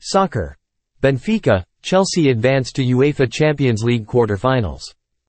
Soccer. Benfica, Chelsea advanced to UEFA Champions League quarter-finals.